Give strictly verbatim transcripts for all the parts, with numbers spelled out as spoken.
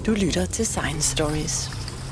Du lytter til Science Stories.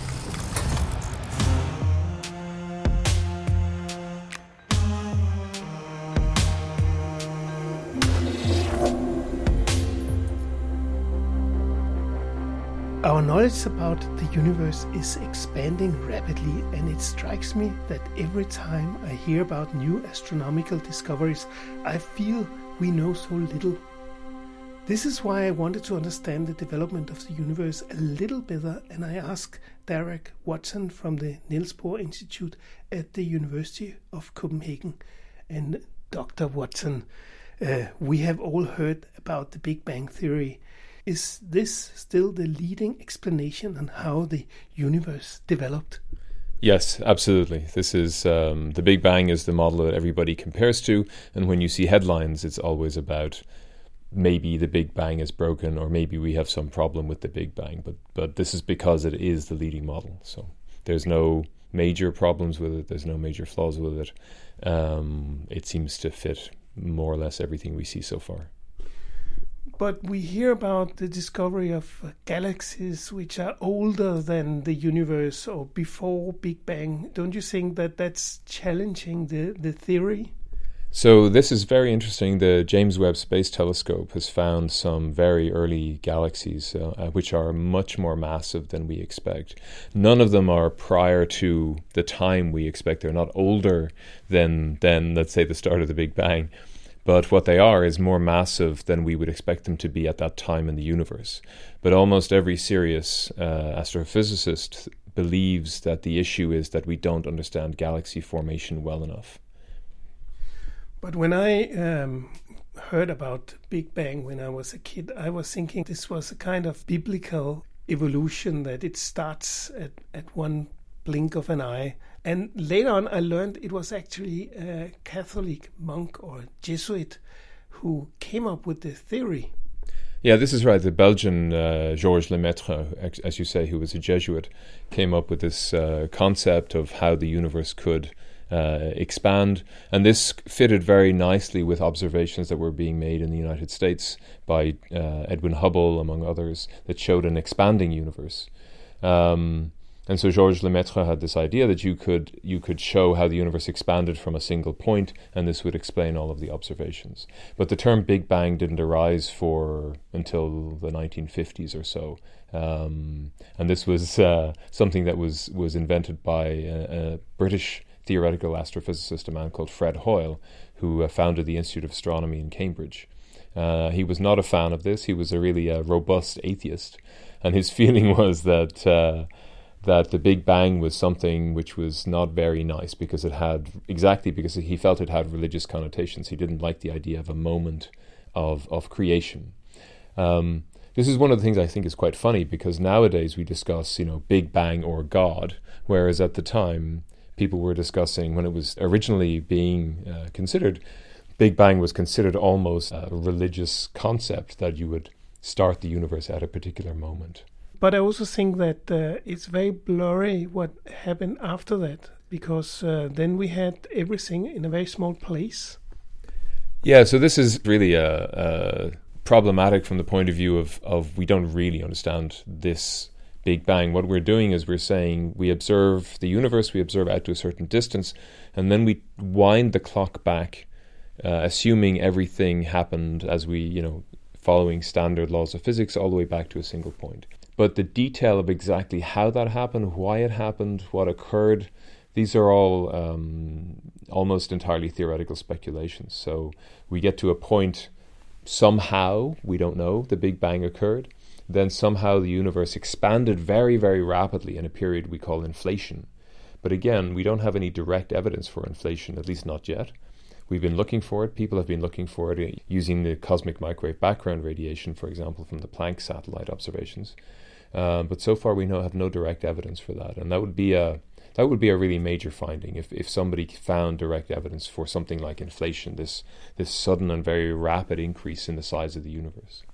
Our knowledge about the universe is expanding rapidly, and it strikes me that every time I hear about new astronomical discoveries, I feel we know so little. This is why I wanted to understand the development of the universe a little better, and I asked Derek Watson from the Niels Bohr Institute at the University of Copenhagen. And Doctor Watson, uh, we have all heard about the Big Bang Theory. Is this still the leading explanation on how the universe developed? Yes, absolutely. This is um, the Big Bang is the model that everybody compares to, and when you see headlines, it's always about maybe the Big Bang is broken, or maybe we have some problem with the Big Bang. But but this is because it is the leading model. So there's no major problems with it. There's no major flaws with it. Um, it seems to fit more or less everything we see so far. But we hear about the discovery of uh, galaxies which are older than the universe or before Big Bang. Don't you think that that's challenging the, the theory? So this is very interesting. The James Webb Space Telescope has found some very early galaxies uh, which are much more massive than we expect. None of them are prior to the time we expect. They're not older than, than let's say, the start of the Big Bang. But what they are is more massive than we would expect them to be at that time in the universe. But almost every serious uh, astrophysicist believes that the issue is that we don't understand galaxy formation well enough. But when I um, heard about Big Bang when I was a kid, I was thinking this was a kind of biblical evolution, that it starts at, at one blink of an eye. And later on I learned it was actually a Catholic monk or Jesuit who came up with the theory. Yeah, this is right. The Belgian uh, Georges Lemaitre, as you say, who was a Jesuit, came up with this uh, concept of how the universe could uh, expand. And this fitted very nicely with observations that were being made in the United States by uh, Edwin Hubble, among others, that showed an expanding universe. Um, And so Georges Lemaitre had this idea that you could you could show how the universe expanded from a single point, and this would explain all of the observations. But the term Big Bang didn't arise for until the nineteen fifties or so. Um, and this was uh, something that was, was invented by a, a British theoretical astrophysicist, a man called Fred Hoyle, who uh, founded the Institute of Astronomy in Cambridge. Uh, he was not a fan of this. He was a really uh, robust atheist. And his feeling was that... Uh, that the Big Bang was something which was not very nice because it had, exactly because he felt it had religious connotations. He didn't like the idea of a moment of, of creation. Um, this is one of the things I think is quite funny, because nowadays we discuss, you know, Big Bang or God, whereas at the time people were discussing, when it was originally being uh, considered, Big Bang was considered almost a religious concept, that you would start the universe at a particular moment. But I also think that uh, it's very blurry what happened after that, because uh, then we had everything in a very small place. Yeah, so this is really uh, uh, problematic from the point of view of, of we don't really understand this Big Bang. What we're doing is we're saying we observe the universe, we observe out to a certain distance, and then we wind the clock back, uh, assuming everything happened as we, you know, following standard laws of physics all the way back to a single point. But the detail of exactly how that happened, why it happened, what occurred, these are all um, almost entirely theoretical speculations. So we get to a point, somehow, we don't know, the Big Bang occurred. Then somehow the universe expanded very, very rapidly in a period we call inflation. But again, we don't have any direct evidence for inflation, at least not yet. We've been looking for it. People have been looking for it using the cosmic microwave background radiation, for example, from the Planck satellite observations. Uh, but so far we know, have no direct evidence for that, and that would be a that would be a really major finding if, if somebody found direct evidence for something like inflation, this this sudden and very rapid increase in the size of the universe.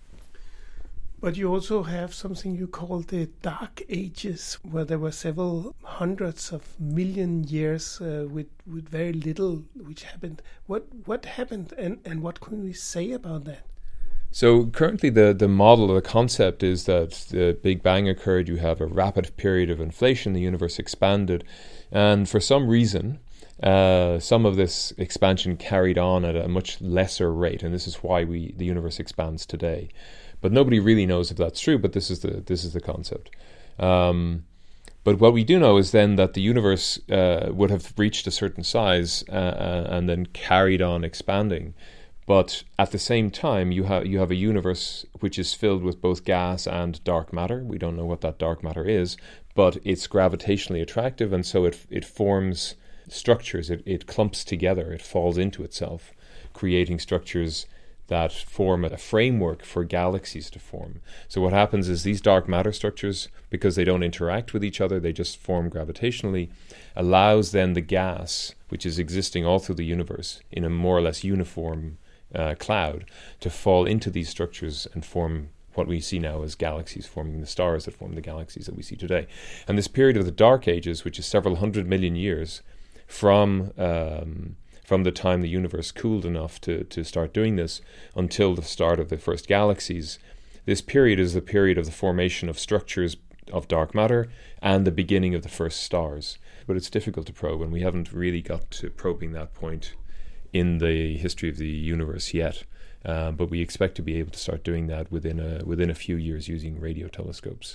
But you also have something you call the Dark Ages, where there were several hundreds of million years uh, with with very little which happened. What what happened, and, and what can we say about that? So currently the, the model, the concept is that the Big Bang occurred, you have a rapid period of inflation, the universe expanded, and for some reason, uh, some of this expansion carried on at a much lesser rate, and this is why we the universe expands today. But nobody really knows if that's true, but this is the this is the concept. Um, but what we do know is then that the universe uh, would have reached a certain size uh, and then carried on expanding. But at the same time, you have you have a universe which is filled with both gas and dark matter. We don't know what that dark matter is, but it's gravitationally attractive, and so it it forms structures. It it clumps together. It falls into itself, creating structures that form a framework for galaxies to form. So what happens is these dark matter structures, because they don't interact with each other, they just form gravitationally, allows then the gas, which is existing all through the universe in a more or less uniform uh, cloud, to fall into these structures and form what we see now as galaxies, forming the stars that form the galaxies that we see today. And this period of the Dark Ages, which is several hundred million years from um, from the time the universe cooled enough to, to start doing this until the start of the first galaxies, this period is the period of the formation of structures of dark matter and the beginning of the first stars. But it's difficult to probe, and we haven't really got to probing that point in the history of the universe yet. Uh, but we expect to be able to start doing that within a, within a few years using radio telescopes.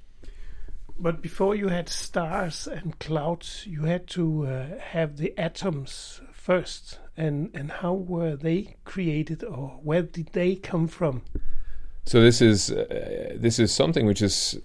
But before you had stars and clouds, you had to uh, have the atoms first. And, and how were they created, or where did they come from? So this is uh, this is something which is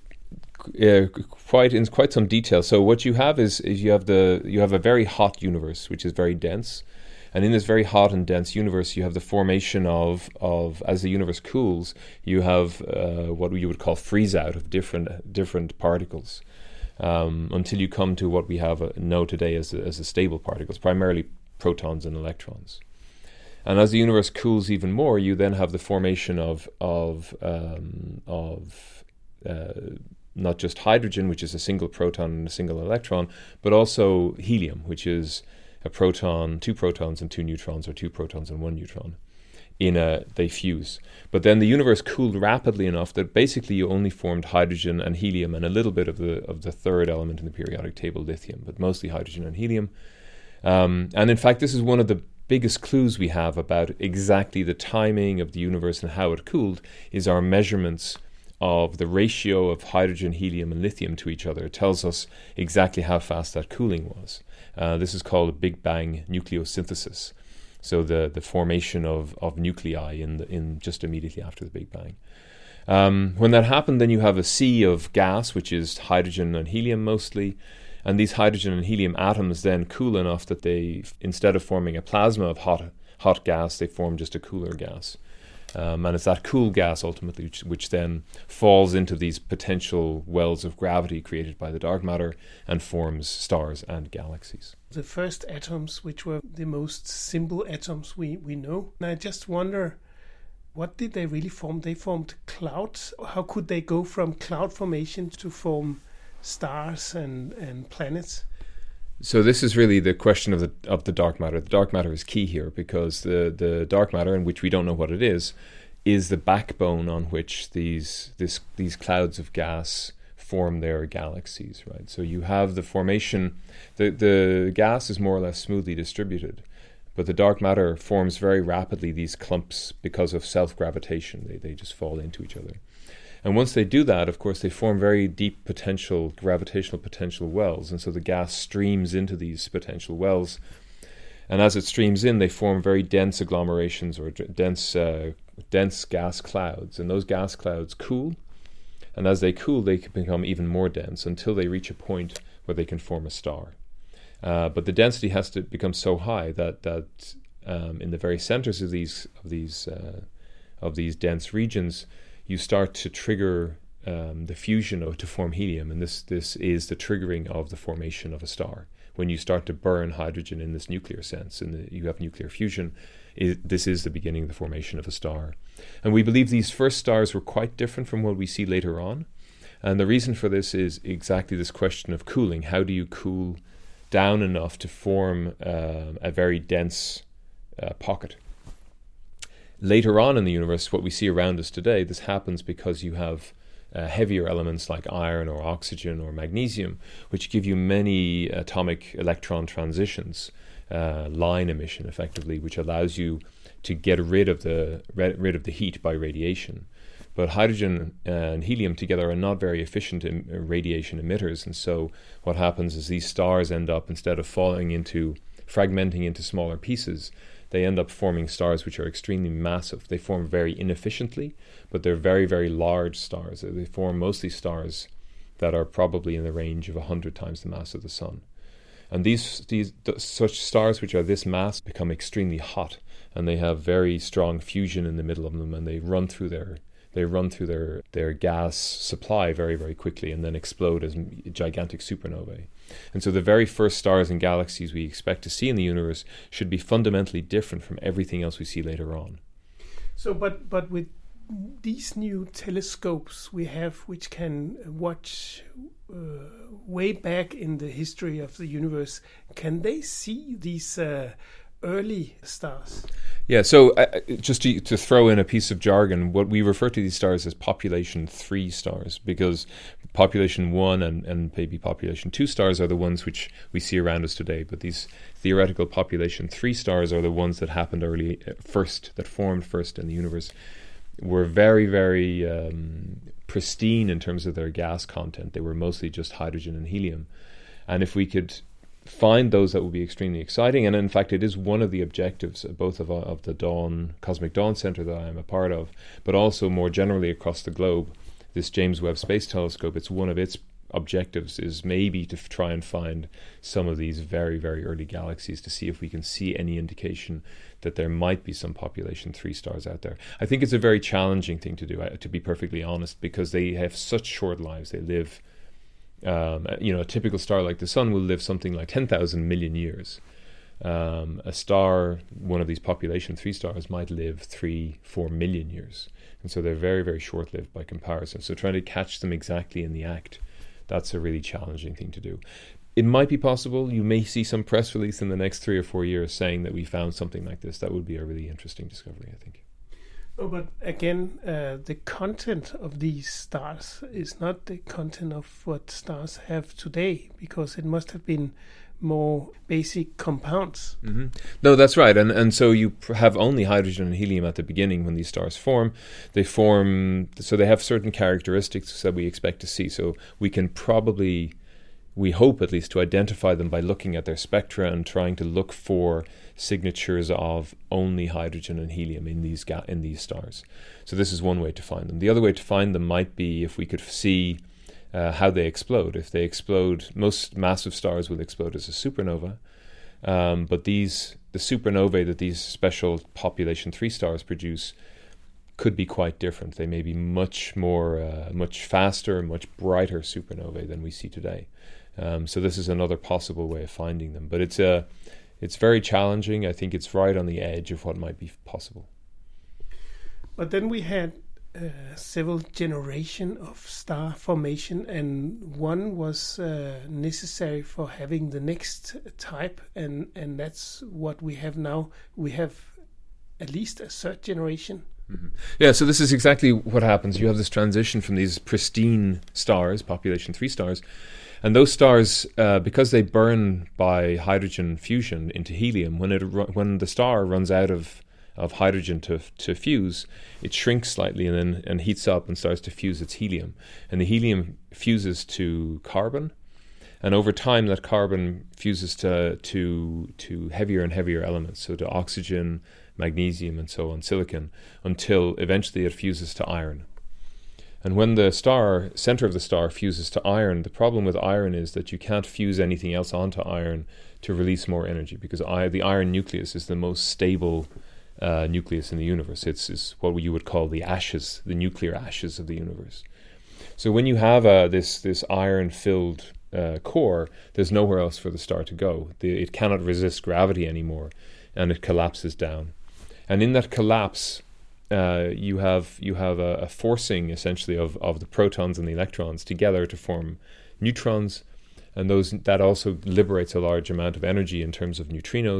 uh, quite in quite some detail. So what you have is, is you have the you have a very hot universe which is very dense. And in this very hot and dense universe, you have the formation of, of as the universe cools, you have uh, what you would call freeze out of different different particles, um, until you come to what we have uh, know today as a, as a stable particles, primarily protons and electrons. And as the universe cools even more, you then have the formation of of um, of uh, not just hydrogen, which is a single proton and a single electron, but also helium, which is a proton, two protons and two neutrons, or two protons and one neutron. In a, they fuse. But then the universe cooled rapidly enough that basically you only formed hydrogen and helium and a little bit of the of the third element in the periodic table, lithium, but mostly hydrogen and helium. Um, and in fact, this is one of the biggest clues we have about exactly the timing of the universe and how it cooled, is our measurements of the ratio of hydrogen, helium, and lithium to each other. It tells us exactly how fast that cooling was. Uh, this is called a Big Bang nucleosynthesis. So the, the formation of, of nuclei in the, in just immediately after the Big Bang. Um, when that happened, then you have a sea of gas, which is hydrogen and helium mostly. And these hydrogen and helium atoms then cool enough that they, instead of forming a plasma of hot hot gas, they form just a cooler gas. Um, and it's that cool gas ultimately which, which then falls into these potential wells of gravity created by the dark matter and forms stars and galaxies. The first atoms, which were the most simple atoms we, we know. And I just wonder, what did they really form? They formed clouds. How could they go from cloud formation to form stars and, and planets? So this is really the question of the of the dark matter. The dark matter is key here because the, the dark matter, in which we don't know what it is, is the backbone on which these this these clouds of gas form their galaxies, right? So you have the formation, the, the gas is more or less smoothly distributed, but the dark matter forms very rapidly these clumps because of self-gravitation. They they just fall into each other. And once they do that, of course, they form very deep potential, gravitational potential wells. And so the gas streams into these potential wells. And as it streams in, they form very dense agglomerations or d- dense, uh, dense gas clouds. And those gas clouds cool. And as they cool, they can become even more dense until they reach a point where they can form a star. Uh, but the density has to become so high that that um, in the very centers of these of these uh, of these dense regions, you start to trigger um, the fusion of, to form helium, and this this is the triggering of the formation of a star. When you start to burn hydrogen in this nuclear sense, and you have nuclear fusion, it, this is the beginning of the formation of a star. And we believe these first stars were quite different from what we see later on. And the reason for this is exactly this question of cooling. How do you cool down enough to form uh, a very dense uh, pocket? later on in the universe, what we see around us today, this happens because you have uh, heavier elements like iron or oxygen or magnesium, which give you many atomic electron transitions, uh, line emission effectively, which allows you to get rid of the rid of the heat by radiation. But hydrogen and helium together are not very efficient in radiation emitters, and so what happens is these stars end up, instead of falling into, fragmenting into smaller pieces, they end up forming stars which are extremely massive. They form very inefficiently, but they're very, very large stars. They form mostly stars that are probably in the range of one hundred times the mass of the Sun. And these, these th- such stars which are this mass become extremely hot, and they have very strong fusion in the middle of them, and they run through their They run through their, their gas supply very, very quickly and then explode as gigantic supernovae. And so the very first stars and galaxies we expect to see in the universe should be fundamentally different from everything else we see later on. So, but but with these new telescopes we have, which can watch uh, way back in the history of the universe, can they see these uh, early stars? Yeah, so uh, just to, to throw in a piece of jargon, what we refer to these stars as population three stars, because population one and, and maybe population two stars are the ones which we see around us today. But these theoretical population three stars are the ones that happened early uh, first, that formed first in the universe, were very, very um, pristine in terms of their gas content. They were mostly just hydrogen and helium. And if we could find those, that would be extremely exciting. And in fact, it is one of the objectives both of, of the Dawn Cosmic Dawn Center that I am a part of, but also more generally across the globe, this James Webb Space Telescope. It's one of its objectives is maybe to f- try and find some of these very, very early galaxies, to see if we can see any indication that there might be some population three stars out there. I think it's a very challenging thing to do, to be perfectly honest, because they have such short lives. They live Um, you know, a typical star like the Sun will live something like ten thousand million years. Um, a star, one of these population three stars, might live three, four million years. And so they're very, very short-lived by comparison. So trying to catch them exactly in the act, that's a really challenging thing to do. It might be possible. You may see some press release in the next three or four years saying that we found something like this. That would be a really interesting discovery, I think. Oh, but again, uh, the content of these stars is not the content of what stars have today, because it must have been more basic compounds. Mm-hmm. No, that's right. And and so you pr- have only hydrogen and helium at the beginning when these stars form. They form, so they have certain characteristics that we expect to see. So we can probably, we hope at least, to identify them by looking at their spectra and trying to look for signatures of only hydrogen and helium in these ga- in these stars. So this is one way to find them. The other way to find them might be if we could see uh, how they explode. If they explode, most massive stars will explode as a supernova, um, but these the supernovae that these special population three stars produce could be quite different. They may be much more, uh, much faster, much brighter supernovae than we see today. Um, so this is another possible way of finding them. But it's a It's very challenging. I think it's right on the edge of what might be possible. But then we had uh, several generations of star formation, and one was uh, necessary for having the next type, and, and that's what we have now. We have at least a third generation. Mm-hmm. Yeah, so this is exactly what happens. You have this transition from these pristine stars, population three stars, and those stars, uh, because they burn by hydrogen fusion into helium, when it ru- when the star runs out of, of hydrogen to to fuse, it shrinks slightly and then and heats up and starts to fuse its helium. And the helium fuses to carbon, and over time that carbon fuses to to to heavier and heavier elements, so to oxygen, magnesium, and so on, silicon, until eventually it fuses to iron. And when the star, center of the star, fuses to iron, the problem with iron is that you can't fuse anything else onto iron to release more energy, because I, the iron nucleus is the most stable uh, nucleus in the universe. It's, it's what you would call the ashes, the nuclear ashes of the universe. So when you have uh, this this iron-filled uh, core, there's nowhere else for the star to go. The, it cannot resist gravity anymore, and it collapses down. And in that collapse, Uh, you have you have a, a forcing essentially of, of the protons and the electrons together to form neutrons, and those that also liberates a large amount of energy in terms of neutrinos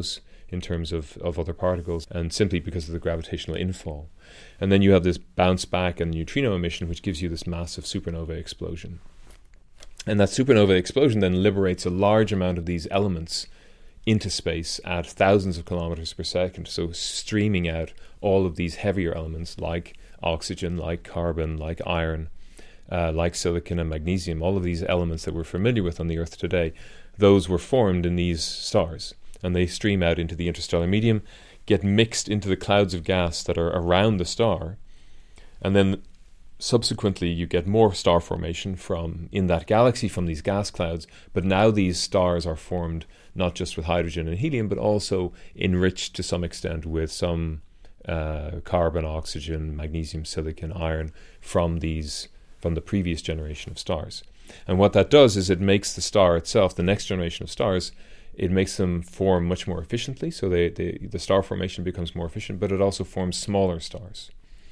in terms of, of other particles, and simply because of the gravitational infall. And then you have this bounce back and neutrino emission, which gives you this massive supernova explosion. And that supernova explosion then liberates a large amount of these elements into space at thousands of kilometers per second, so streaming out all of these heavier elements like oxygen, like carbon, like iron, uh, like silicon and magnesium, all of these elements that we're familiar with on the Earth today. Those were formed in these stars, and they stream out into the interstellar medium, get mixed into the clouds of gas that are around the star, and then subsequently you get more star formation from in that galaxy from these gas clouds. But now these stars are formed not just with hydrogen and helium, but also enriched to some extent with some uh, carbon, oxygen, magnesium, silicon, iron from these from the previous generation of stars. And what that does is it makes the star itself, the next generation of stars, it makes them form much more efficiently. So they, they, the star formation becomes more efficient, but it also forms smaller stars.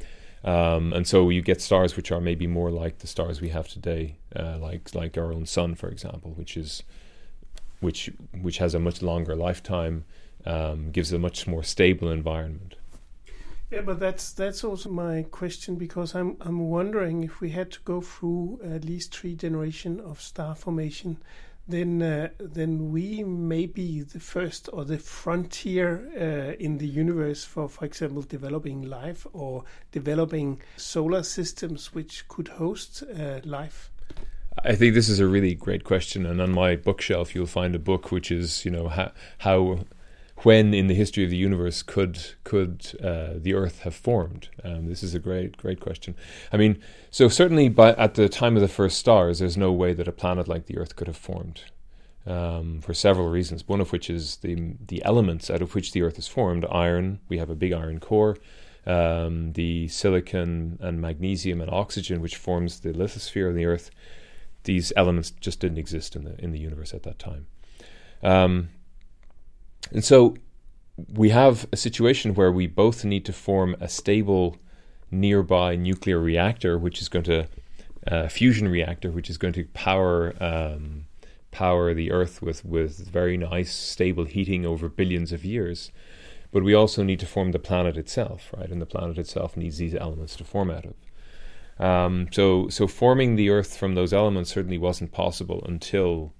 Um, and so you get stars which are maybe more like the stars we have today, uh, like like our own sun, for example, which is which which has a much longer lifetime, um, gives a much more stable environment. Yeah, but that's that's also my question, because I'm I'm wondering if we had to go through at least three generations of star formation, then uh, then we may be the first or the frontier uh, in the universe for, for example, developing life or developing solar systems which could host uh, life. I think this is a really great question, and on my bookshelf you'll find a book which is, you know, how, how when in the history of the universe could could uh, the Earth have formed? Um, this is a great great question. I mean, so certainly by at the time of the first stars, there's no way that a planet like the Earth could have formed, um, for several reasons. One of which is the the elements out of which the Earth is formed. Iron, we have a big iron core. Um, the silicon and magnesium and oxygen, which forms the lithosphere of the Earth. These elements just didn't exist in the in the universe at that time. Um, And so we have a situation where we both need to form a stable nearby nuclear reactor, which is going to, uh, fusion reactor, which is going to power um, power the Earth with, with very nice stable heating over billions of years. But we also need to form the planet itself, right? And the planet itself needs these elements to form out of. Um, so, so forming the Earth from those elements certainly wasn't possible until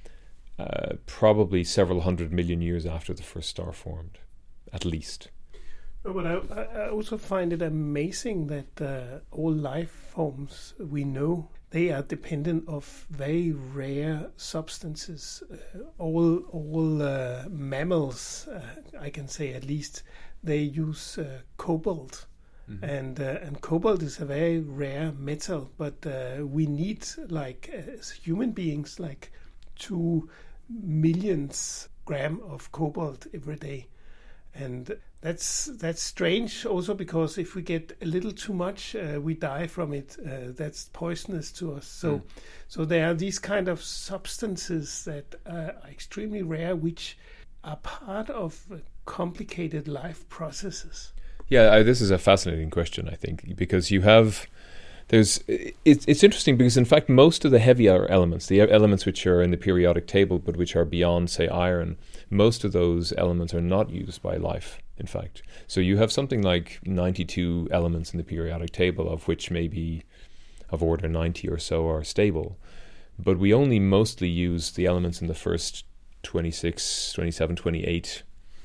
Uh, probably several hundred million years after the first star formed, at least. No, but I, I also find it amazing that uh, all life forms we know, they are dependent of very rare substances. Uh, all all uh, mammals, uh, I can say at least, they use uh, cobalt. Mm-hmm. And uh, and cobalt is a very rare metal, but uh, we need, like, as human beings, like two millions gram of cobalt every day. And that's that's strange also, because if we get a little too much, uh, we die from it. Uh, that's poisonous to us. So mm. so there are these kind of substances that uh, are extremely rare, which are part of complicated life processes. Yeah, I, this is a fascinating question, I think, because you have There's it's it's interesting because in fact most of the heavier elements, the elements which are in the periodic table but which are beyond, say, iron, most of those elements are not used by life, in fact. So you have something like ninety-two elements in the periodic table, of which maybe of order ninety or so are stable. But we only mostly use the elements in the first twenty-six, twenty-seven, twenty-eight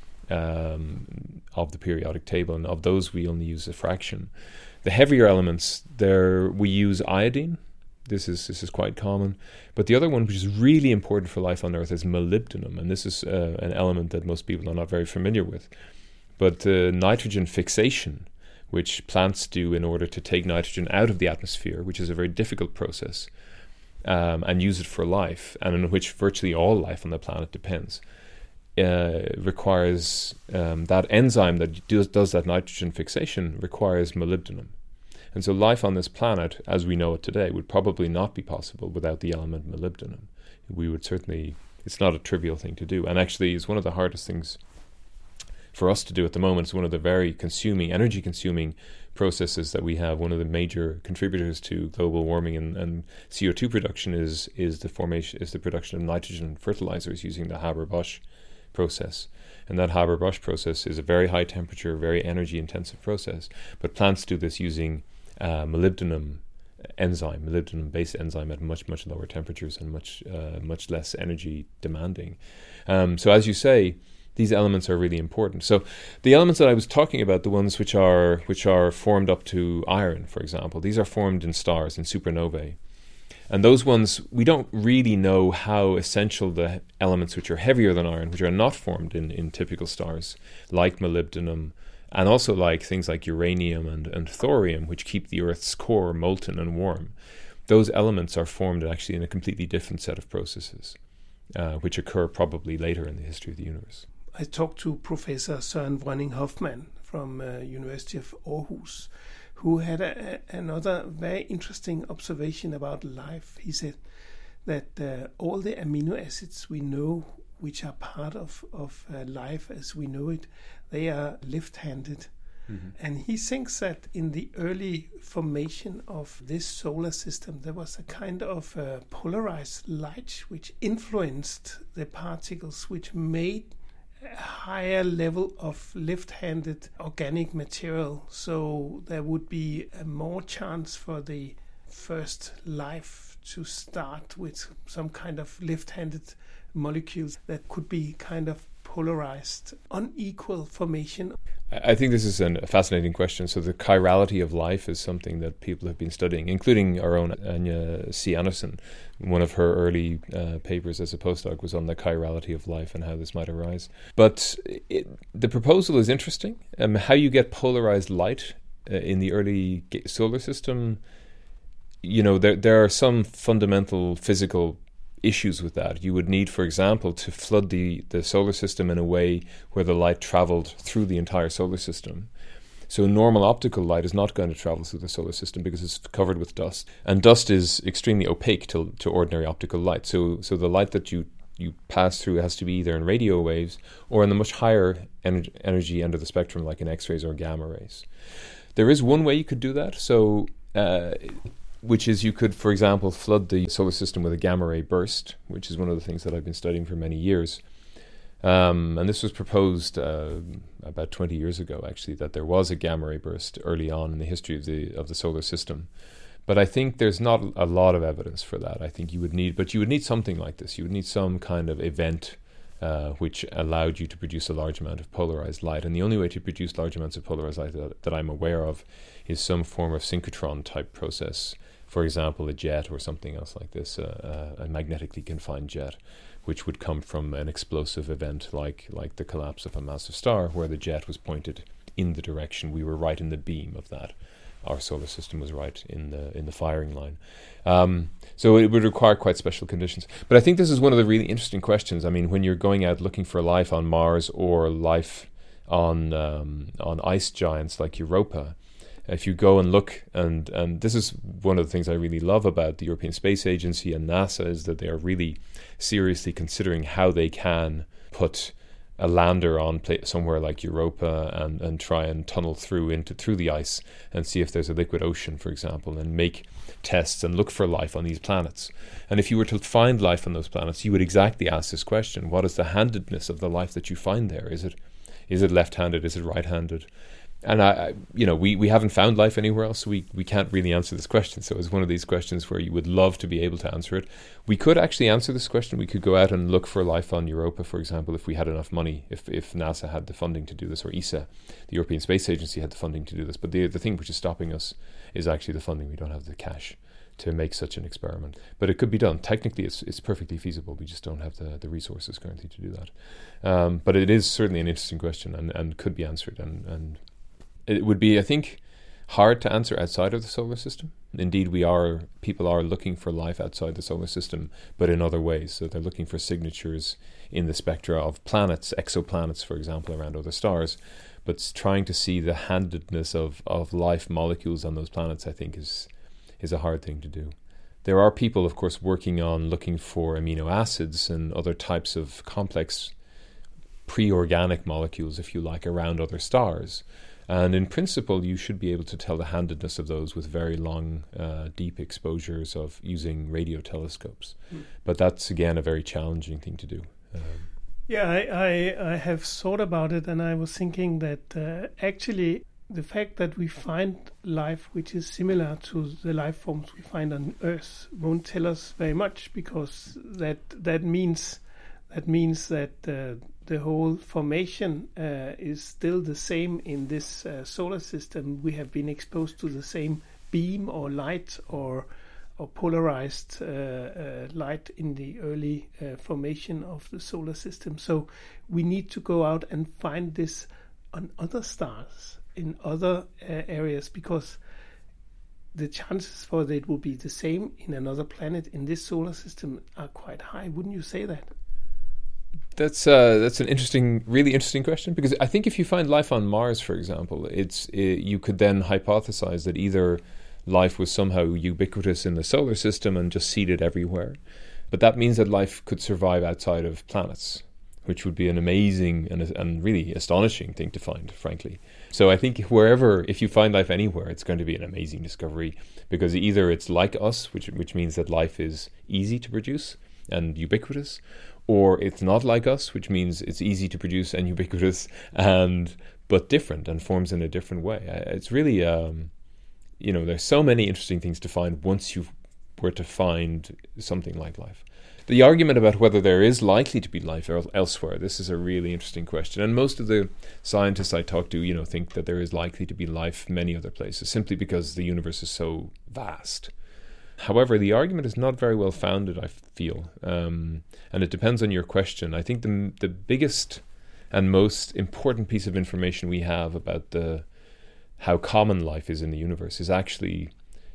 um, of the periodic table, and of those we only use a fraction. The heavier elements, there we use iodine. This is this is quite common. But the other one, which is really important for life on Earth, is molybdenum, and this is uh, an element that most people are not very familiar with. But uh, nitrogen fixation, which plants do in order to take nitrogen out of the atmosphere, which is a very difficult process, um, and use it for life, and in which virtually all life on the planet depends, uh, requires um, that enzyme that does, does that nitrogen fixation requires molybdenum. And so life on this planet, as we know it today, would probably not be possible without the element molybdenum. We would certainly, it's not a trivial thing to do. And actually, it's one of the hardest things for us to do at the moment. It's one of the very consuming, energy-consuming processes that we have. One of the major contributors to global warming and, and C O two production is is the formation is the production of nitrogen fertilizers using the Haber-Bosch process. And that Haber-Bosch process is a very high temperature, very energy intensive process. But plants do this using uh, molybdenum enzyme, molybdenum-based enzyme at much, much lower temperatures and much, uh, much less energy demanding. Um, so as you say, these elements are really important. So the elements that I was talking about, the ones which are which are formed up to iron, for example, these are formed in stars, in supernovae. And those ones, we don't really know how essential the elements which are heavier than iron, which are not formed in, in typical stars, like molybdenum, and also like things like uranium and, and thorium, which keep the Earth's core molten and warm. Those elements are formed actually in a completely different set of processes, uh, which occur probably later in the history of the universe. I talked to Professor Søren Vrønning-Hoffmann from uh, University of Aarhus, who had a, a, another very interesting observation about life. He said that uh, all the amino acids we know, which are part of, of uh, life as we know it, they are left-handed. Mm-hmm. And he thinks that in the early formation of this solar system, there was a kind of uh, polarized light which influenced the particles, which made a higher level of left-handed organic material. So there would be a more chance for the first life to start with some kind of left-handed molecules that could be kind of polarized, unequal formation. I think this is an, a fascinating question. So the chirality of life is something that people have been studying, including our own Anja C. Andersen. One of her early uh, papers as a postdoc was on the chirality of life and how this might arise. But it, the proposal is interesting. Um, how you get polarized light uh, in the early solar system, you know, there there are some fundamental physical issues with that. You would need, for example, to flood the, the solar system in a way where the light traveled through the entire solar system. So normal optical light is not going to travel through the solar system because it's covered with dust. And dust is extremely opaque to, to ordinary optical light. So so the light that you, you pass through has to be either in radio waves or in the much higher ener- energy end of the spectrum, like in X-rays or gamma rays. There is one way you could do that. So... Uh, which is you could, for example, flood the solar system with a gamma ray burst, which is one of the things that I've been studying for many years. Um, and this was proposed uh, about twenty years ago, actually, that there was a gamma ray burst early on in the history of the of the solar system. But I think there's not a lot of evidence for that. I think you would need, but you would need something like this. You would need some kind of event uh, which allowed you to produce a large amount of polarized light. And the only way to produce large amounts of polarized light that, that I'm aware of is some form of synchrotron type process. For example, a jet or something else like this, uh, uh, a magnetically confined jet, which would come from an explosive event like like the collapse of a massive star, where the jet was pointed in the direction. We were right in the beam of that. Our solar system was right in the in the firing line. Um, so it would require quite special conditions. But I think this is one of the really interesting questions. I mean, when you're going out looking for life on Mars or life on um, on ice giants like Europa, if you go and look, and, and this is one of the things I really love about the European Space Agency and NASA, is that they are really seriously considering how they can put a lander on pla- somewhere like Europa and, and try and tunnel through into through the ice and see if there's a liquid ocean, for example, and make tests and look for life on these planets. And if you were to find life on those planets, you would exactly ask this question: what is the handedness of the life that you find there? Is it is it left-handed? Is it right-handed? And I, I, you know, we, we haven't found life anywhere else, so we, we can't really answer this question. So it's one of these questions where you would love to be able to answer it. We could actually answer this question. We could go out and look for life on Europa, for example, if we had enough money, if if NASA had the funding to do this, or E S A, the European Space Agency, had the funding to do this. But the the thing which is stopping us is actually the funding. We don't have the cash to make such an experiment. But it could be done. Technically, it's it's perfectly feasible. We just don't have the, the resources currently to do that. Um, but it is certainly an interesting question and, and could be answered. And, and it would be, I think, hard to answer outside of the solar system. Indeed, we are people are looking for life outside the solar system, but in other ways. So they're looking for signatures in the spectra of planets, exoplanets, for example, around other stars. But trying to see the handedness of, of life molecules on those planets, I think, is is a hard thing to do. There are people, of course, working on looking for amino acids and other types of complex pre-organic molecules, if you like, around other stars. And in principle, you should be able to tell the handedness of those with very long, uh, deep exposures of using radio telescopes. Mm. But that's, again, a very challenging thing to do. Um, Yeah, I, I, I have thought about it, and I was thinking that uh, actually the fact that we find life which is similar to the life forms we find on Earth won't tell us very much, because that that means that means that uh, the whole formation uh, is still the same in this uh, solar system. We have been exposed to the same beam or light or or polarized uh, uh, light in the early uh, formation of the solar system. So we need to go out and find this on other stars, in other uh, areas, because the chances for that it will be the same in another planet in this solar system are quite high. Wouldn't you say that? That's uh, that's an interesting, really interesting question, because I think if you find life on Mars, for example, it's it, you could then hypothesize that either life was somehow ubiquitous in the solar system and just seeded everywhere, but that means that life could survive outside of planets, which would be an amazing and, and really astonishing thing to find, frankly. So I think wherever, if you find life anywhere, it's going to be an amazing discovery, because either it's like us, which which means that life is easy to produce and ubiquitous, or it's not like us, which means it's easy to produce and ubiquitous and but different and forms in a different way. It's really, um, you know, there's so many interesting things to find once you were to find something like life. The argument about whether there is likely to be life el- elsewhere, this is a really interesting question. And most of the scientists I talk to, you know, think that there is likely to be life many other places, simply because the universe is so vast. However, the argument is not very well founded, I feel, um, and it depends on your question. I think the the biggest and most important piece of information we have about the how common life is in the universe is actually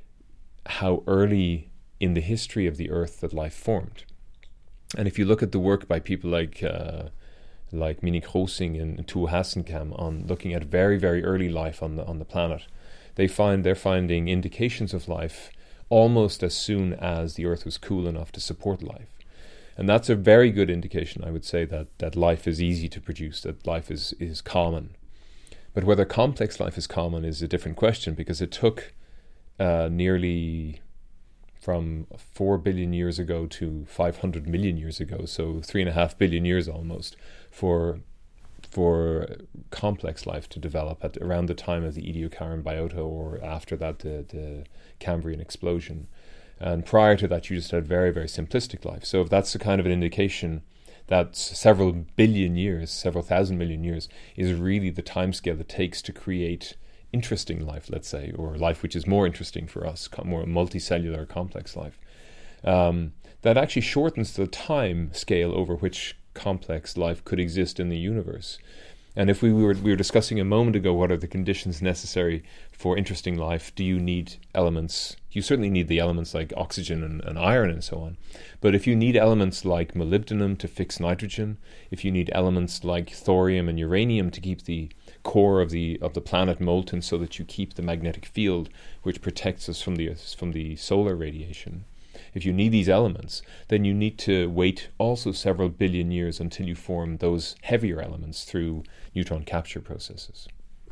how early in the history of the Earth that life formed. And if you look at the work by people like uh, like Minik Rosing and Tuul Hasenkamp on looking at very, very early life on the on the planet, they find they're finding indications of life almost as soon as the Earth was cool enough to support life. And that's a very good indication, I would say, that, that life is easy to produce, that life is, is common. But whether complex life is common is a different question, because it took uh, nearly from four billion years ago to five hundred million years ago, so three and a half billion years almost, for for complex life to develop at around the time of the Ediacaran biota, or after that the, the Cambrian explosion. And prior to that you just had very, very simplistic life. So if that's the kind of an indication that several billion years, several thousand million years is really the timescale it takes to create interesting life, let's say, or life which is more interesting for us, more multicellular complex life, um, that actually shortens the time scale over which complex life could exist in the universe. And if we were we were discussing a moment ago what are the conditions necessary for interesting life, do you need elements? You certainly need the elements like oxygen and, and iron and so on. But if you need elements like molybdenum to fix nitrogen, if you need elements like thorium and uranium to keep the core of the of the planet molten so that you keep the magnetic field which protects us from the from the solar radiation, if you need these elements, then you need to wait also several billion years until you form those heavier elements through neutron capture processes.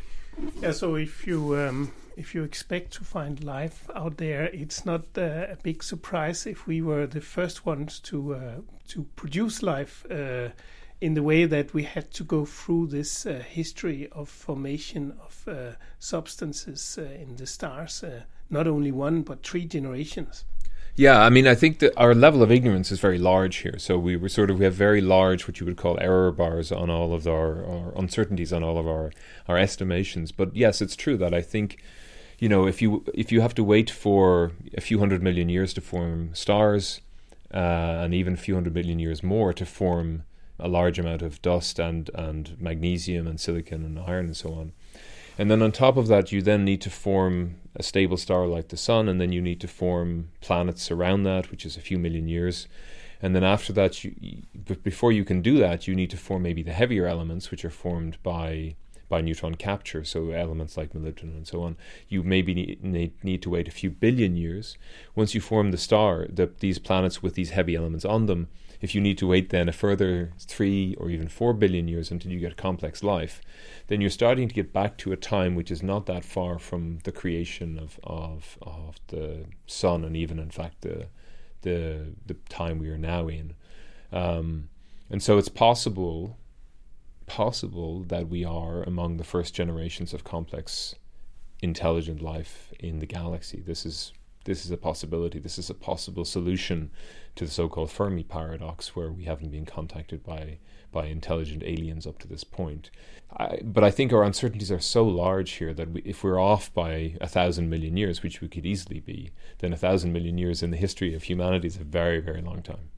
Yeah, so if you um, if you expect to find life out there, it's not uh, a big surprise if we were the first ones to uh, to produce life uh, in the way that we had to go through this uh, history of formation of uh, substances uh, in the stars, uh, not only one but three generations. Yeah, I mean, I think that our level of ignorance is very large here. So we were sort of, we have very large, what you would call error bars on all of our, our uncertainties on all of our, our estimations. But yes, it's true that I think, you know, if you if you have to wait for a few hundred million years to form stars, uh, and even a few hundred million years more to form a large amount of dust and, and magnesium and silicon and iron and so on. And then on top of that, you then need to form a stable star like the sun, and then you need to form planets around that, which is a few million years. And then after that, you, but before you can do that, you need to form maybe the heavier elements, which are formed by by neutron capture, so elements like molybdenum and so on. You maybe need, need, need to wait a few billion years. Once you form the star, the, these planets with these heavy elements on them, if you need to wait then a further three or even four billion years until you get complex life, then you're starting to get back to a time which is not that far from the creation of of, of the sun, and even in fact the the the time we are now in. Um, And so it's possible, possible that we are among the first generations of complex, intelligent life in the galaxy. This is this is a possibility. This is a possible solution to the so-called Fermi paradox, where we haven't been contacted by by intelligent aliens up to this point. I, but I think our uncertainties are so large here that we, if we're off by a thousand million years, which we could easily be, then a thousand million years in the history of humanity is a very, very long time.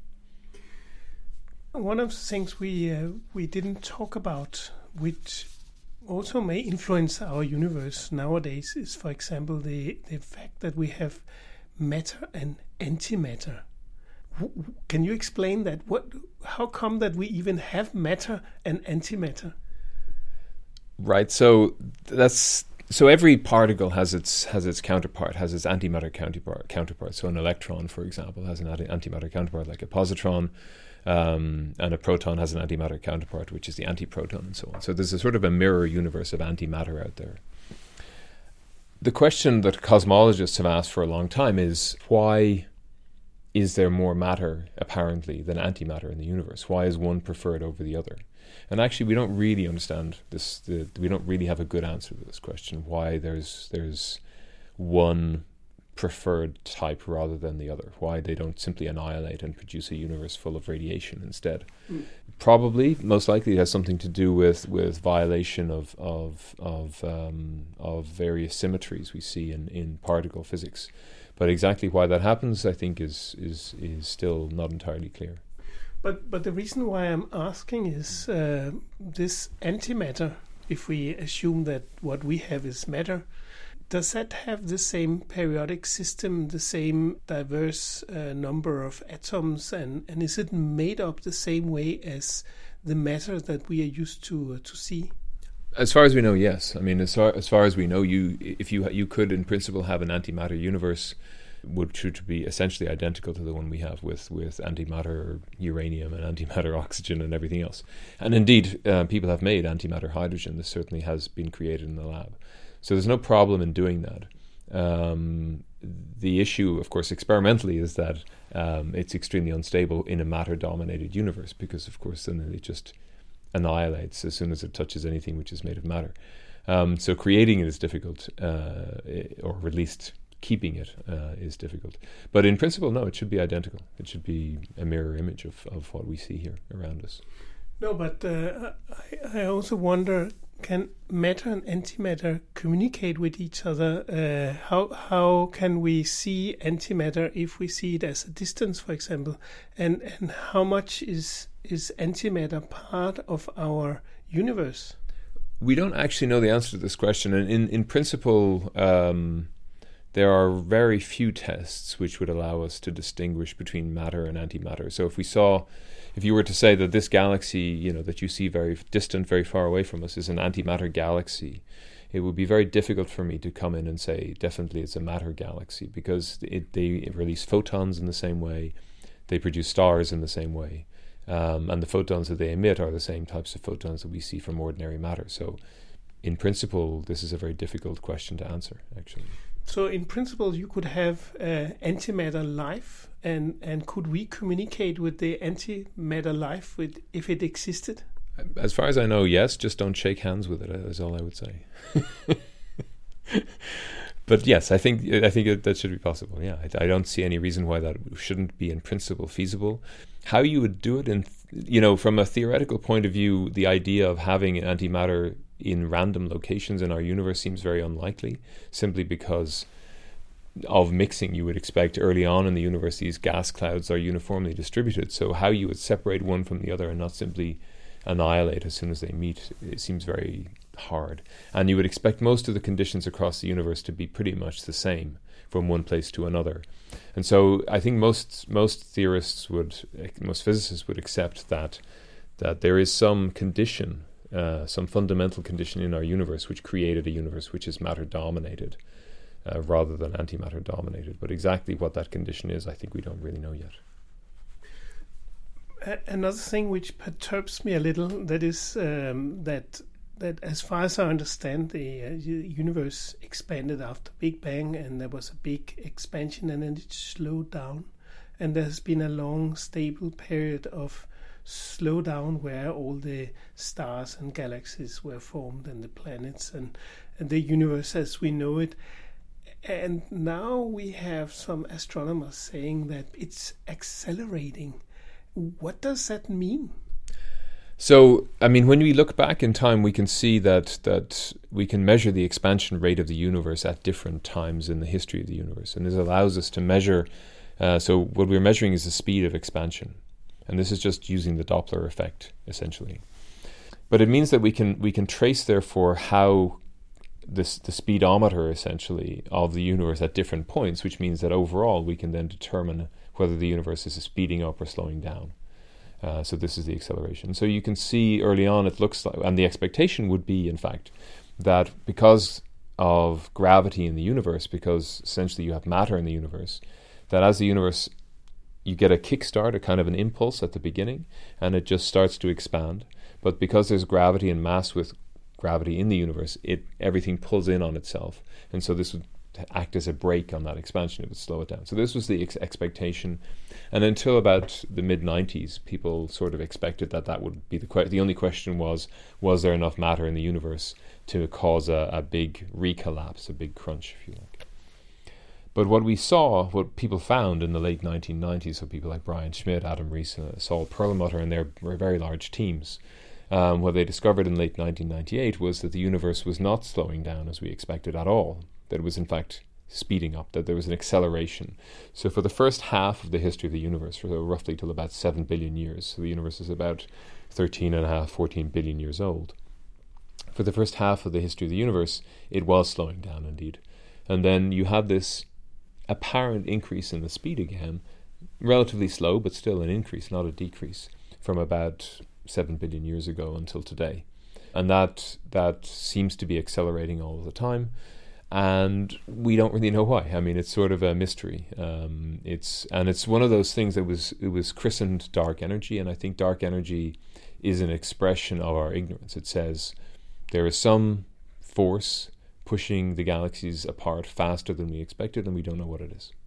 One of the things we uh, we didn't talk about, which also may influence our universe nowadays, is, for example, the, the fact that we have matter and antimatter. W- can you explain that? What? How come that we even have matter and antimatter? Right. So that's so every particle has its has its counterpart, has its antimatter counterpart. Counterpart. So an electron, for example, has an anti- antimatter counterpart, like a positron. Um, and a proton has an antimatter counterpart, which is the antiproton, and so on. So there's a sort of a mirror universe of antimatter out there. The question that cosmologists have asked for a long time is, why is there more matter, apparently, than antimatter in the universe? Why is one preferred over the other? And actually, we don't really understand this. The, we don't really have a good answer to this question, why there's there's one preferred type rather than the other, why they don't simply annihilate and produce a universe full of radiation instead. Mm. Probably, most likely, it has something to do with, with violation of of of, um, of various symmetries we see in, in particle physics. But exactly why that happens, I think, is is is still not entirely clear. But but the reason why I'm asking is uh, this antimatter. If we assume that what we have is matter, does that have the same periodic system, the same diverse uh, number of atoms, and, and is it made up the same way as the matter that we are used to uh, to see? As far as we know, yes. I mean, as far as, far as we know, you if you you could in principle have an antimatter universe, which would be essentially identical to the one we have with, with antimatter uranium and antimatter oxygen and everything else. And indeed, uh, people have made antimatter hydrogen. This certainly has been created in the lab. So there's no problem in doing that. Um, the issue, of course, experimentally is that um, it's extremely unstable in a matter-dominated universe because, of course, then it just annihilates as soon as it touches anything which is made of matter. Um, so creating it is difficult, uh, or at least keeping it uh, is difficult. But in principle, no, it should be identical. It should be a mirror image of, of what we see here around us. No, but uh, I, I also wonder, can matter and antimatter communicate with each other? Uh, how how can we see antimatter if we see it as a distance, for example? And and how much is is antimatter part of our universe? We don't actually know the answer to this question. And in, in principle, um, there are very few tests which would allow us to distinguish between matter and antimatter. So if we saw, if you were to say that this galaxy, you know, that you see very distant, very far away from us is an antimatter galaxy, it would be very difficult for me to come in and say definitely it's a matter galaxy, because it, they release photons in the same way, they produce stars in the same way, um, and the photons that they emit are the same types of photons that we see from ordinary matter. So in principle, this is a very difficult question to answer, actually. So in principle, you could have uh, antimatter life, and, and could we communicate with the antimatter life with, if it existed? As far as I know, yes. Just don't shake hands with it, is all I would say. But yes, I think I think it, that should be possible. Yeah, I, I don't see any reason why that shouldn't be in principle feasible. How you would do it, in you know, from a theoretical point of view, the idea of having antimatter in random locations in our universe seems very unlikely, simply because of mixing. You would expect early on in the universe these gas clouds are uniformly distributed, so how you would separate one from the other and not simply annihilate as soon as they meet, it seems very hard. And you would expect most of the conditions across the universe to be pretty much the same from one place to another. And so I think most most theorists would, most physicists would accept that that there is some condition, Uh, some fundamental condition in our universe which created a universe which is matter-dominated uh, rather than antimatter-dominated. But exactly what that condition is, I think we don't really know yet. A- another thing which perturbs me a little, that is um, that that as far as I understand, the uh, universe expanded after Big Bang, and there was a big expansion, and then it slowed down. And there has been a long, stable period of slow down where all the stars and galaxies were formed and the planets and, and the universe as we know it. And now we have some astronomers saying that it's accelerating. What does that mean? So, I mean, when we look back in time, we can see that that we can measure the expansion rate of the universe at different times in the history of the universe. And this allows us to measure, uh, so what we're measuring is the speed of expansion. And this is just using the Doppler effect, essentially. But it means that we can we can trace, therefore, how this the speedometer, essentially, of the universe at different points, which means that overall we can then determine whether the universe is speeding up or slowing down. Uh, so this is the acceleration. So you can see early on it looks like, and the expectation would be, in fact, that because of gravity in the universe, because essentially you have matter in the universe, that as the universe, you get a kickstart, a kind of an impulse at the beginning, and it just starts to expand. But because there's gravity and mass with gravity in the universe, it everything pulls in on itself. And so this would act as a brake on that expansion. It would slow it down. So this was the ex- expectation. And until about the mid nineties, people sort of expected that that would be the que- the only question was, was there enough matter in the universe to cause a, a big recollapse, a big crunch, if you like. But what we saw, what people found in the late nineteen nineties, so people like Brian Schmidt, Adam Rees, uh, Saul Perlmutter, and their very large teams, um, what they discovered in late nineteen ninety-eight was that the universe was not slowing down as we expected at all, that it was in fact speeding up, that there was an acceleration. So for the first half of the history of the universe, for roughly till about seven billion years, so the universe is about thirteen and a half, fourteen billion years old. For the first half of the history of the universe, it was slowing down indeed. And then you had this apparent increase in the speed again, relatively slow, but still an increase, not a decrease, from about seven billion years ago until today. And that that seems to be accelerating all the time. And we don't really know why. I mean, it's sort of a mystery. Um, it's and it's one of those things that was it was christened dark energy, and I think dark energy is an expression of our ignorance. It says there is some force pushing the galaxies apart faster than we expected, and we don't know what it is.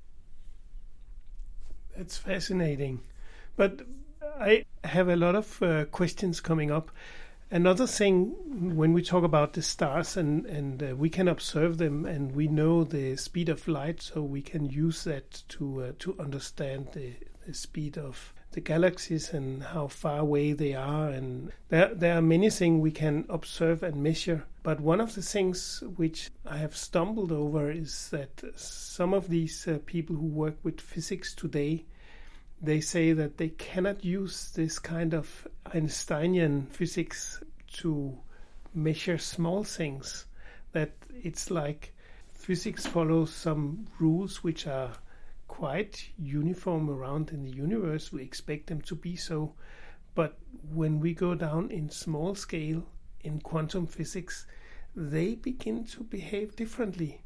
That's fascinating. But I have a lot of uh, questions coming up. Another thing, when we talk about the stars and, and uh, we can observe them and we know the speed of light, so we can use that to uh, to understand the, the speed of the galaxies and how far away they are. And there, there are many things we can observe and measure. But one of the things which I have stumbled over is that some of these uh, people who work with physics today, they say that they cannot use this kind of Einsteinian physics to measure small things. That it's like physics follows some rules which are quite uniform around in the universe. We expect them to be so. But when we go down in small scale, in quantum physics, they begin to behave differently.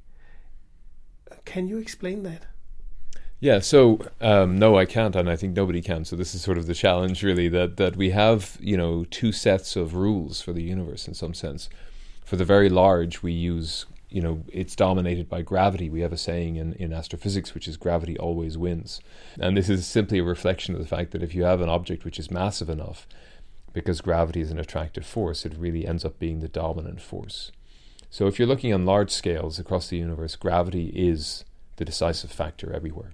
Can you explain that? Yeah, so um, no, I can't, and I think nobody can. So this is sort of the challenge, really, that, that we have, you know, two sets of rules for the universe in some sense. For the very large, we use, you know, it's dominated by gravity. We have a saying in, in astrophysics, which is gravity always wins. And this is simply a reflection of the fact that if you have an object which is massive enough, because gravity is an attractive force, it really ends up being the dominant force. So if you're looking on large scales across the universe, gravity is the decisive factor everywhere.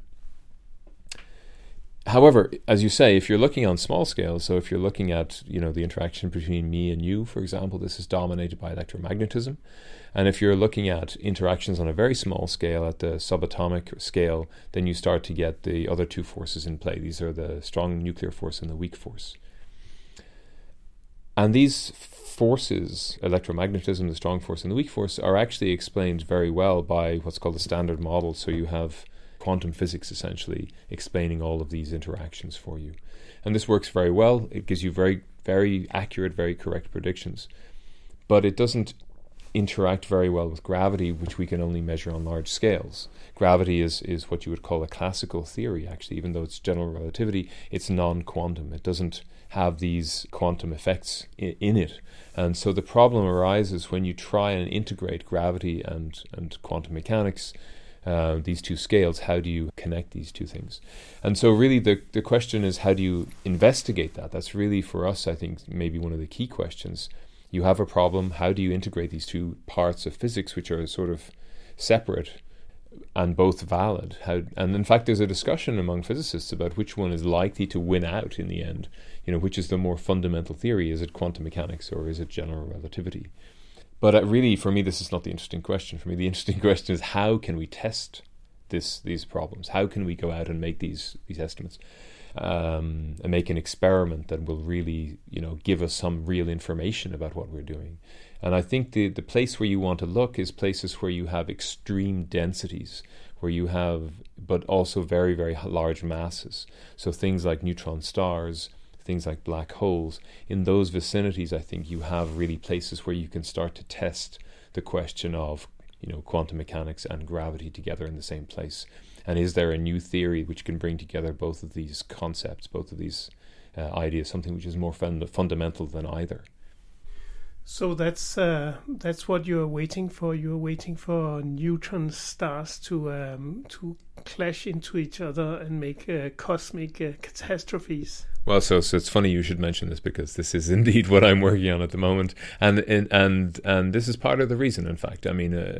However, as you say, if you're looking on small scales, so if you're looking at, you know, the interaction between me and you, for example, this is dominated by electromagnetism. And if you're looking at interactions on a very small scale, at the subatomic scale, then you start to get the other two forces in play. These are the strong nuclear force and the weak force. And these forces, electromagnetism, the strong force and the weak force, are actually explained very well by what's called the Standard Model. So you have quantum physics essentially explaining all of these interactions for you. And this works very well. It gives you very, very accurate, very correct predictions. But it doesn't interact very well with gravity, which we can only measure on large scales. Gravity is, is what you would call a classical theory, actually. Even though it's general relativity, it's non-quantum. It doesn't have these quantum effects in, in it. And so the problem arises when you try and integrate gravity and, and quantum mechanics uh, these two scales, how do you connect these two things? And so really the, the question is, how do you investigate that? That's really, for us, I think, maybe one of the key questions. You have a problem, how do you integrate these two parts of physics, which are sort of separate and both valid? How, and in fact, there's a discussion among physicists about which one is likely to win out in the end. You know, which is the more fundamental theory? Is it quantum mechanics or is it general relativity? But uh, really, for me, this is not the interesting question. For me, the interesting question is, how can we test this these problems? How can we go out and make these these estimates um, and make an experiment that will really, you know, give us some real information about what we're doing? And I think the, the place where you want to look is places where you have extreme densities, where you have, but also very, very large masses. So things like neutron stars, things like black holes. In those vicinities, I think you have really places where you can start to test the question of, you know, quantum mechanics and gravity together in the same place. And is there a new theory which can bring together both of these concepts, both of these uh, ideas, something which is more fund- fundamental than either? So that's uh, that's what you're waiting for. You're waiting for neutron stars to um, to clash into each other and make uh, cosmic uh, catastrophes. Well, so so it's funny you should mention this, because this is indeed what I'm working on at the moment, and and and, and this is part of the reason. In fact, I mean, uh,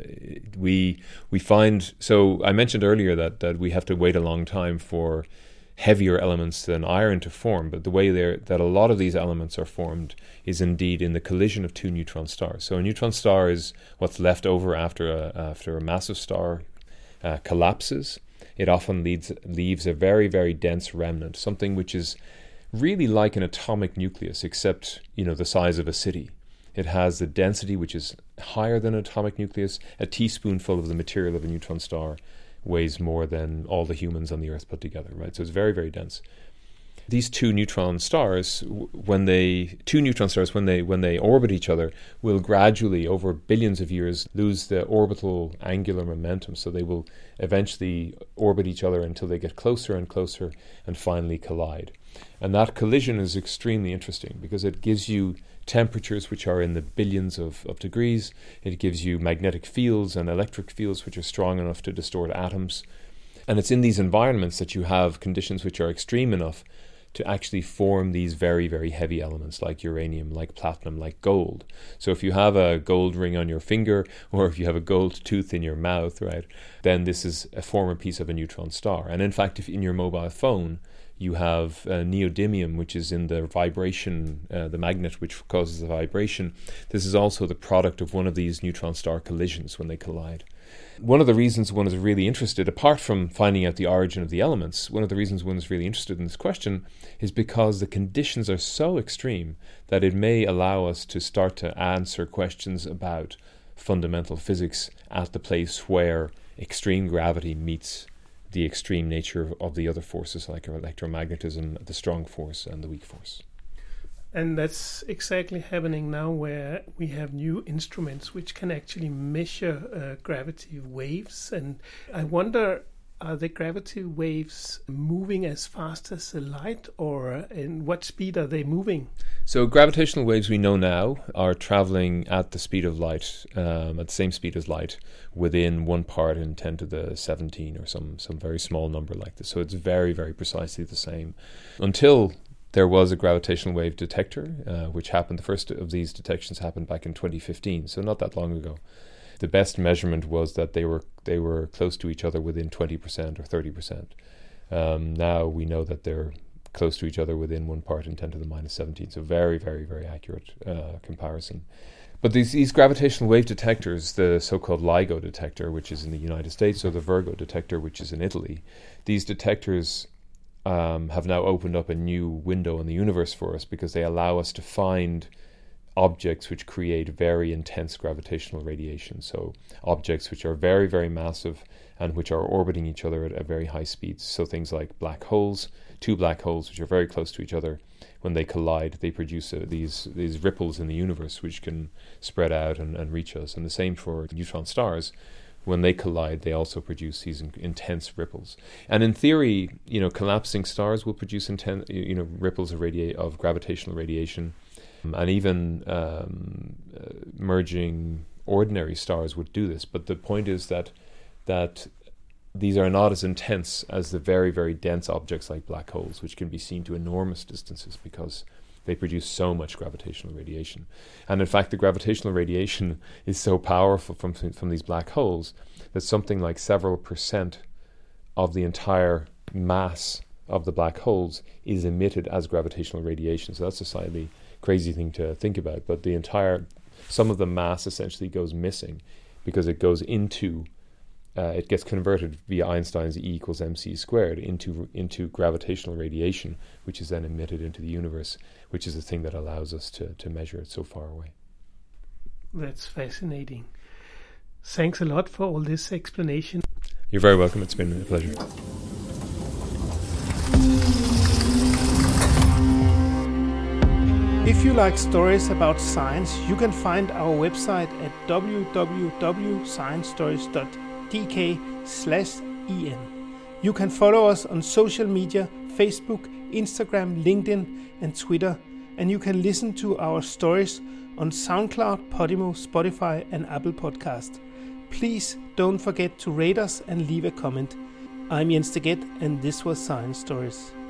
we we find. So I mentioned earlier that that we have to wait a long time for heavier elements than iron to form, but the way that a lot of these elements are formed is indeed in the collision of two neutron stars. So a neutron star is what's left over after a after a massive star uh, collapses. It often leads, leaves a very, very dense remnant, something which is really like an atomic nucleus, except, you know, the size of a city. It has the density which is higher than an atomic nucleus. A teaspoonful of the material of a neutron star weighs more than all the humans on the Earth put together, right? So it's very, very dense. These two neutron stars, when they two neutron stars, when they when they orbit each other, will gradually, over billions of years, lose the orbital angular momentum. So they will eventually orbit each other until they get closer and closer and finally collide. And that collision is extremely interesting because it gives you temperatures which are in the billions of, of degrees. It gives you magnetic fields and electric fields which are strong enough to distort atoms. And it's in these environments that you have conditions which are extreme enough to actually form these very, very heavy elements like uranium, like platinum, like gold. So if you have a gold ring on your finger, or if you have a gold tooth in your mouth, right, then this is a former piece of a neutron star. And in fact, if in your mobile phone you have uh, neodymium, which is in the vibration, uh, the magnet which causes the vibration, this is also the product of one of these neutron star collisions when they collide. One of the reasons one is really interested, apart from finding out the origin of the elements, one of the reasons one is really interested in this question is because the conditions are so extreme that it may allow us to start to answer questions about fundamental physics at the place where extreme gravity meets the extreme nature of, of the other forces like electromagnetism, the strong force and the weak force. And that's exactly happening now, where we have new instruments which can actually measure uh, gravity waves. And I wonder, are the gravity waves moving as fast as the light, or in what speed are they moving? So gravitational waves we know now are traveling at the speed of light, um, at the same speed as light, within one part in ten to the seventeen or some, some very small number like this. So it's very, very precisely the same. Until there was a gravitational wave detector, uh, which happened, the first of these detections happened back in twenty fifteen, so not that long ago. The best measurement was that they were they were close to each other within twenty percent or thirty percent. Um, now we know that they're close to each other within one part in ten to the minus seventeen, so very, very, very accurate uh, comparison. But these, these gravitational wave detectors, the so-called LIGO detector, which is in the United States, or the Virgo detector, which is in Italy, these detectors Um, have now opened up a new window in the universe for us because they allow us to find objects which create very intense gravitational radiation. So objects which are very, very massive and which are orbiting each other at, at very high speeds. So things like black holes, two black holes which are very close to each other. When they collide, they produce uh, these these ripples in the universe which can spread out and, and reach us. And the same for neutron stars. When they collide, they also produce these in, intense ripples. And in theory, you know, collapsing stars will produce intense, you know, ripples of radia- of gravitational radiation, um, and even um, uh, merging ordinary stars would do this. But the point is that that these are not as intense as the very, very dense objects like black holes, which can be seen to enormous distances because they produce so much gravitational radiation. And in fact, the gravitational radiation is so powerful from, from these black holes that something like several percent of the entire mass of the black holes is emitted as gravitational radiation. So that's a slightly crazy thing to think about. But the entire, some of the mass essentially goes missing because it goes into, uh, it gets converted via Einstein's E equals mc squared into into gravitational radiation, which is then emitted into the universe, which is the thing that allows us to, to measure it so far away. That's fascinating. Thanks a lot for all this explanation. You're very welcome. It's been a pleasure. If you like stories about science, you can find our website at w w w dot science stories dot d k slash e n. You can follow us on social media, Facebook, Instagram, LinkedIn, and Twitter, and you can listen to our stories on SoundCloud, Podimo, Spotify, and Apple Podcast. Please don't forget to rate us and leave a comment. I'm Jens Deget, and this was Science Stories.